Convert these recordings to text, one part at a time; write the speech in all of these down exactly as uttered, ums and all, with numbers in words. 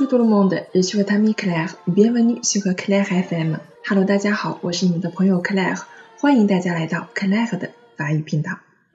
tout le monde, je suis votre amie Claire, bienvenue sur Claire F M. Hello， 大家好，我是你们的朋友 Claire， 欢迎大家来到 Claire 的法语频道。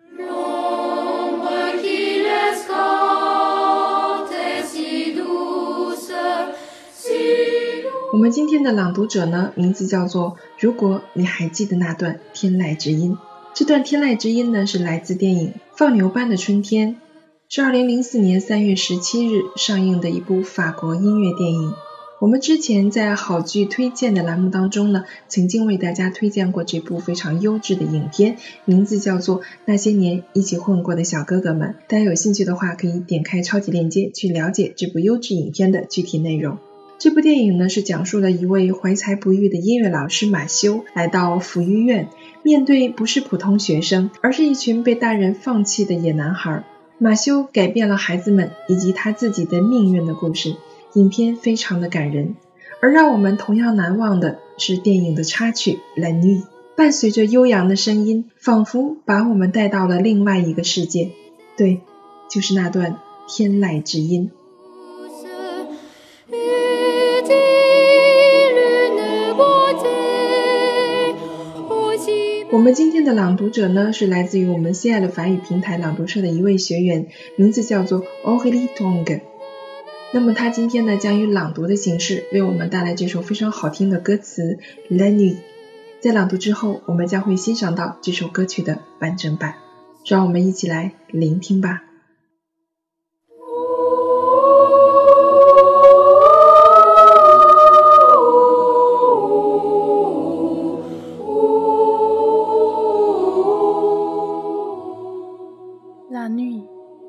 我们今天的朗读者呢，名字叫做如果你还记得那段天籁之音。这段天籁之音呢，是来自电影《放牛班的春天》，是二零零四年三月十七日上映的一部法国音乐电影。我们之前在好剧推荐的栏目当中呢，曾经为大家推荐过这部非常优质的影片，名字叫做《那些年一起混过的小哥哥们》。大家有兴趣的话，可以点开超级链接去了解这部优质影片的具体内容。这部电影呢，是讲述了一位怀才不遇的音乐老师马修来到抚育院，面对不是普通学生，而是一群被大人放弃的野男孩。马修改变了孩子们以及他自己的命运的故事，影片非常的感人。而让我们同样难忘的是电影的插曲 La Nuit， 伴随着悠扬的声音，仿佛把我们带到了另外一个世界。对，就是那段天籁之音。我们今天的朗读者呢，是来自于我们心爱的法语平台朗读社的一位学员，名字叫做 Aurélie Tong。 那么他今天呢，将以朗读的形式为我们带来这首非常好听的歌词 La Nuit。 在朗读之后，我们将会欣赏到这首歌曲的完整版，让我们一起来聆听吧。 La nuit,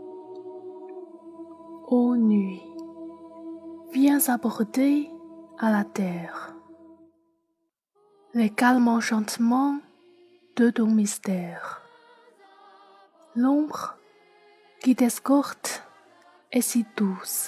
ô nuit, viens aborder à la terre les calmes enchantements de ton mystère. L'ombre qui t'escorte est si douce,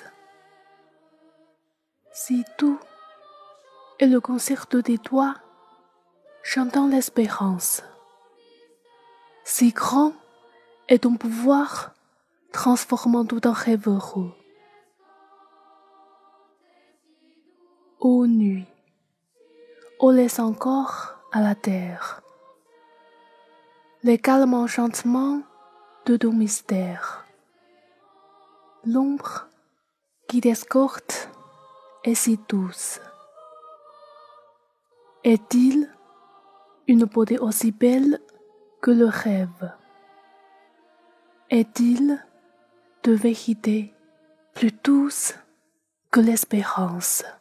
si doux est le concerto des doigts chantant l'espérance, si grand et ton pouvoir transformant tout en rêve heureux. Ô nuit, ô laisse encore à la terre les calmes enchantements de ton mystère. L'ombre qui t'escorte est si douce. Est-il une beauté aussi belle que le rêve? Est-il de vérité plus douce que l'espérance?